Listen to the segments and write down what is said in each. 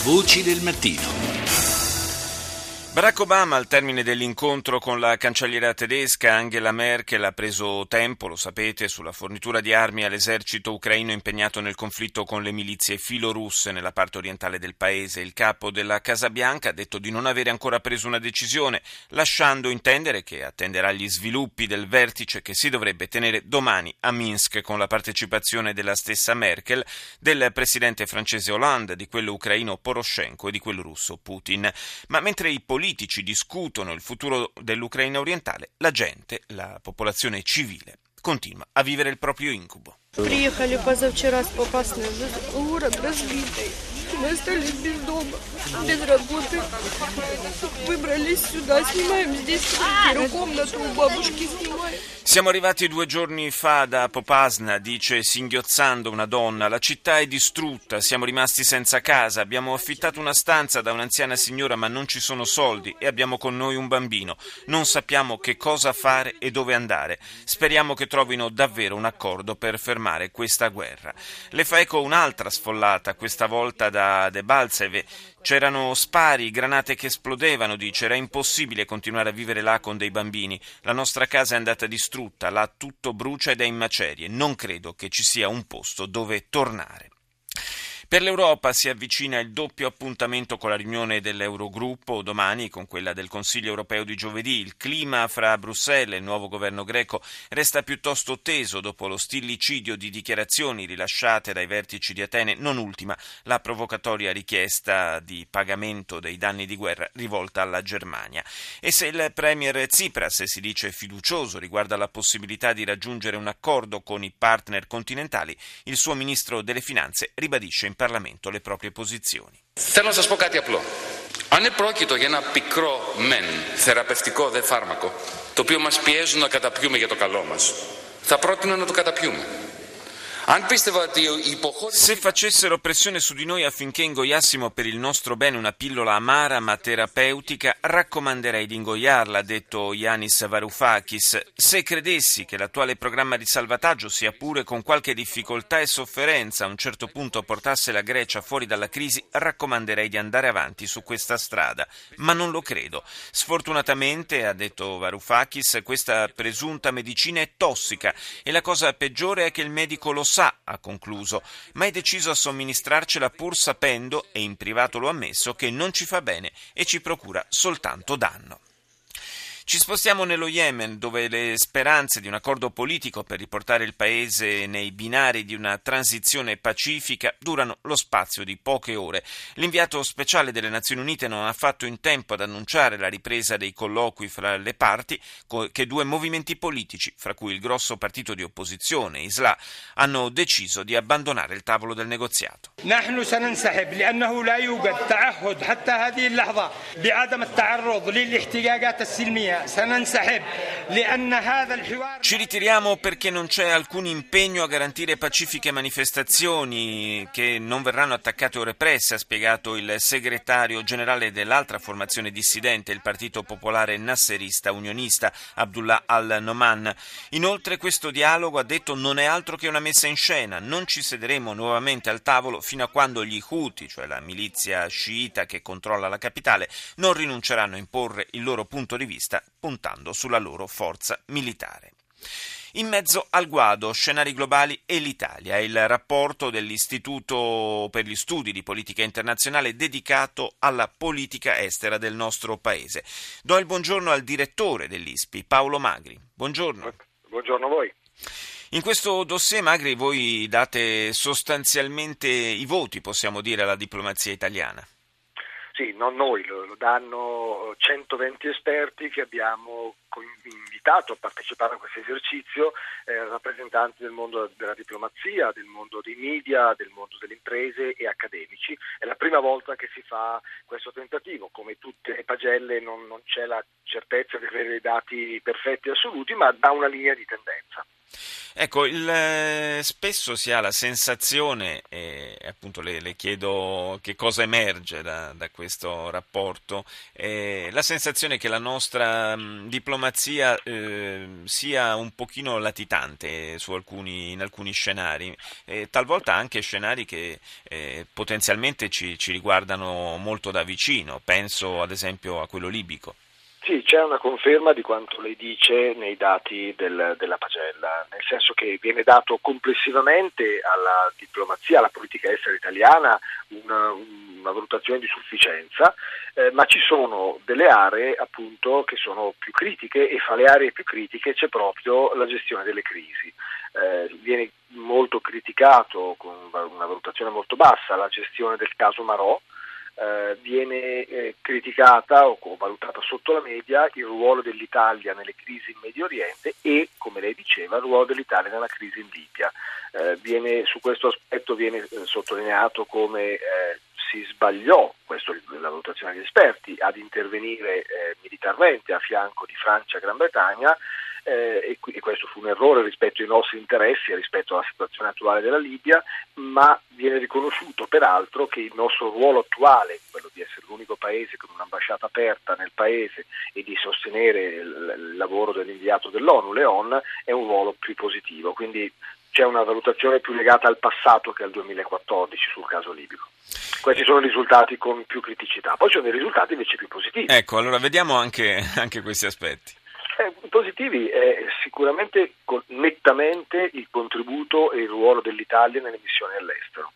Voci del mattino. Barack Obama, al termine dell'incontro con la cancelliera tedesca Angela Merkel, ha preso tempo, lo sapete, sulla fornitura di armi all'esercito ucraino impegnato nel conflitto con le milizie filorusse nella parte orientale del paese. Il capo della Casa Bianca ha detto di non avere ancora preso una decisione, lasciando intendere che attenderà gli sviluppi del vertice che si dovrebbe tenere domani a Minsk con la partecipazione della stessa Merkel, del presidente francese Hollande, di quello ucraino Poroshenko e di quello russo Putin. Ma mentre i politici discutono il futuro dell'Ucraina orientale, la gente, la popolazione civile, continua a vivere il proprio incubo. Приехали позавчера с Попасной, город разбитый. Мы остались без дома, без работы. Выбрались сюда, снимаем здесь квартиру, комнату у бабушки снимаем. Siamo arrivati 2 giorni fa da Popasna, dice singhiozzando una donna. La città è distrutta, siamo rimasti senza casa, abbiamo affittato una stanza da un'anziana signora ma non ci sono soldi e abbiamo con noi un bambino. Non sappiamo che cosa fare e dove andare. Speriamo che trovino davvero un accordo per fermare questa guerra. Le fa eco un'altra sfollata, questa volta da Debaltseve. C'erano spari, granate che esplodevano, dice, era impossibile continuare a vivere là con dei bambini. La nostra casa è andata distrutta, là tutto brucia ed è in macerie. Non credo che ci sia un posto dove tornare. Per l'Europa si avvicina il doppio appuntamento con la riunione dell'Eurogruppo domani con quella del Consiglio europeo di giovedì. Il clima fra Bruxelles e il nuovo governo greco resta piuttosto teso dopo lo stillicidio di dichiarazioni rilasciate dai vertici di Atene, non ultima la provocatoria richiesta di pagamento dei danni di guerra rivolta alla Germania. E se il premier Tsipras si dice fiducioso riguardo alla possibilità di raggiungere un accordo con i partner continentali, il suo ministro delle finanze ribadisce in Parlamento le proprie posizioni. Θέλω να σας πω κάτι απλό. Αν επρόκειτο για ένα πικρό μεν θεραπευτικό δε φάρμακο, το οποίο μας πιέζουν να καταπιούμε για το καλό μας, θα πρότεινα να το καταπιούμε. Se facessero pressione su di noi affinché ingoiassimo per il nostro bene una pillola amara ma terapeutica, raccomanderei di ingoiarla, ha detto Yanis Varoufakis. Se credessi che l'attuale programma di salvataggio, sia pure con qualche difficoltà e sofferenza, a un certo punto portasse la Grecia fuori dalla crisi, raccomanderei di andare avanti su questa strada. Ma non lo credo. Sfortunatamente, ha detto Varoufakis, questa presunta medicina è tossica e la cosa peggiore è che il medico lo sa, ha concluso, ma è deciso a somministrarcela pur sapendo, e in privato lo ha ammesso, che non ci fa bene e ci procura soltanto danno. Ci spostiamo nello Yemen, dove le speranze di un accordo politico per riportare il paese nei binari di una transizione pacifica durano lo spazio di poche ore. L'inviato speciale delle Nazioni Unite non ha fatto in tempo ad annunciare la ripresa dei colloqui fra le parti che 2 movimenti politici, fra cui il grosso partito di opposizione, Islah, hanno deciso di abbandonare il tavolo del negoziato. نحن سننسحب لأنه لا يوجد تعهد حتى هذه اللحظة بعدم التعرض للاحتجاجات السلمية. Ci ritiriamo perché non c'è alcun impegno a garantire pacifiche manifestazioni che non verranno attaccate o represse, ha spiegato il segretario generale dell'altra formazione dissidente, il Partito Popolare Nasserista Unionista, Abdullah al-Noman. Inoltre questo dialogo, ha detto, non è altro che una messa in scena. Non ci sederemo nuovamente al tavolo fino a quando gli Houthi, cioè la milizia sciita che controlla la capitale, non rinunceranno a imporre il loro punto di vista puntando sulla loro forza militare. In mezzo al guado, scenari globali e l'Italia, il rapporto dell'Istituto per gli Studi di Politica Internazionale dedicato alla politica estera del nostro paese. Do il buongiorno al direttore dell'ISPI, Paolo Magri. Buongiorno. Buongiorno a voi. In questo dossier, Magri, voi date sostanzialmente i voti, possiamo dire, alla diplomazia italiana. Sì, non noi, lo danno 120 esperti che abbiamo invitato a partecipare a questo esercizio, rappresentanti del mondo della diplomazia, del mondo dei media, del mondo delle imprese e accademici. È la prima volta che si fa questo tentativo. Come tutte le pagelle non c'è la certezza di avere dei dati perfetti e assoluti, ma dà una linea di tendenza. Ecco, spesso si ha la sensazione, e appunto le chiedo che cosa emerge da questo rapporto, la sensazione che la nostra diplomazia sia un pochino latitante in alcuni scenari, talvolta anche scenari che potenzialmente ci riguardano molto da vicino, penso ad esempio a quello libico. Sì, c'è una conferma di quanto lei dice nei dati della pagella, nel senso che viene dato complessivamente alla diplomazia, alla politica estera italiana una valutazione di sufficienza, ma ci sono delle aree appunto che sono più critiche e fra le aree più critiche c'è proprio la gestione delle crisi. Viene molto criticato con una valutazione molto bassa la gestione del caso Marò. Viene criticata o valutata sotto la media il ruolo dell'Italia nelle crisi in Medio Oriente e, come lei diceva, il ruolo dell'Italia nella crisi in Libia. Su questo aspetto viene sottolineato come si sbagliò, questa è la valutazione degli esperti, ad intervenire militarmente a fianco di Francia e Gran Bretagna, e questo fu un errore rispetto ai nostri interessi e rispetto alla situazione attuale della Libia, ma viene riconosciuto peraltro che il nostro ruolo attuale, quello di essere l'unico paese con un'ambasciata aperta nel paese e di sostenere il lavoro dell'inviato dell'ONU, Leon, è un ruolo più positivo, quindi c'è una valutazione più legata al passato che al 2014 sul caso libico. Questi sono i risultati con più criticità, poi ci sono dei risultati invece più positivi. Ecco, allora vediamo anche questi aspetti. Positivi è sicuramente nettamente il contributo e il ruolo dell'Italia nelle missioni all'estero.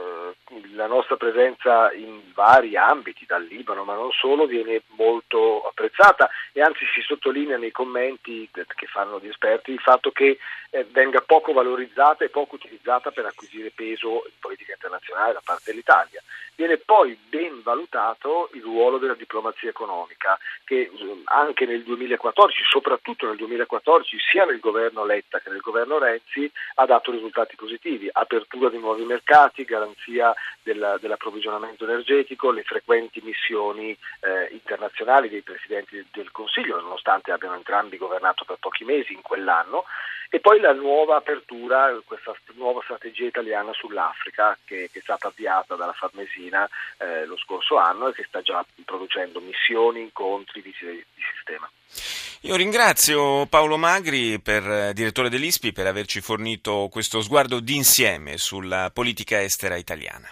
La nostra presenza in vari ambiti, dal Libano ma non solo, viene molto apprezzata e anzi si sottolinea nei commenti che fanno gli esperti il fatto che venga poco valorizzata e poco utilizzata per acquisire peso in politica internazionale da parte dell'Italia. Viene poi ben valutato il ruolo della diplomazia economica che anche nel 2014, soprattutto nel 2014, sia nel governo Letta che nel governo Renzi ha dato risultati positivi, apertura di nuovi mercati, garanzia dell'approvvigionamento energetico, le frequenti missioni internazionali dei presidenti del Consiglio, nonostante abbiano entrambi governato per pochi mesi in quell'anno, e poi la nuova apertura, questa nuova strategia italiana sull'Africa che è stata avviata dalla Farnesina lo scorso anno e che sta già producendo missioni, incontri, visite di sistema. Io ringrazio Paolo Magri, direttore dell'ISPI, per averci fornito questo sguardo d'insieme sulla politica estera italiana.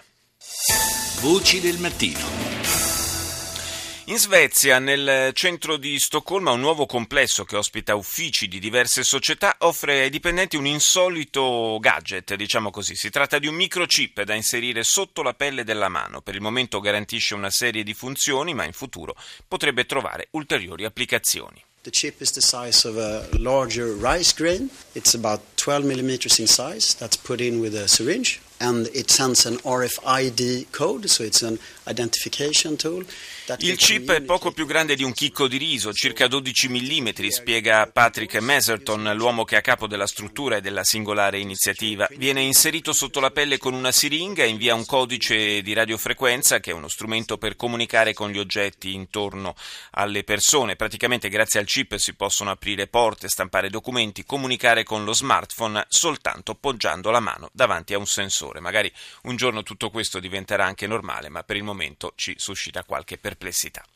Voci del mattino. In Svezia, nel centro di Stoccolma, un nuovo complesso che ospita uffici di diverse società offre ai dipendenti un insolito gadget, diciamo così. Si tratta di un microchip da inserire sotto la pelle della mano. Per il momento garantisce una serie di funzioni, ma in futuro potrebbe trovare ulteriori applicazioni. The chip is the size of a larger rice grain. It's about 12 millimeters in size. That's put in with a syringe. And it sends an RFID code, so it's an identification tool. Il chip è poco più grande di un chicco di riso, circa 12 mm, spiega Patrick Meserton, l'uomo che è a capo della struttura e della singolare iniziativa. Viene inserito sotto la pelle con una siringa e invia un codice di radiofrequenza, che è uno strumento per comunicare con gli oggetti intorno alle persone. Praticamente grazie al chip si possono aprire porte, stampare documenti, comunicare con lo smartphone soltanto poggiando la mano davanti a un sensore. Magari un giorno tutto questo diventerà anche normale, ma per il momento ci suscita qualche perplessità.